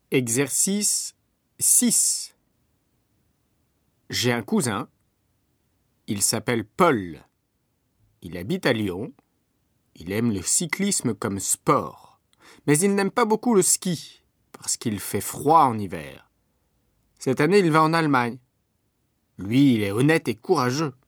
Exercice 6. J'ai un cousin. Il s'appelle Paul. Il habite à Lyon. Il aime le cyclisme comme sport. Mais il n'aime pas beaucoup le ski, parce qu'il fait froid en hiver. Cette année, il va en Allemagne. Lui, il est honnête et courageux.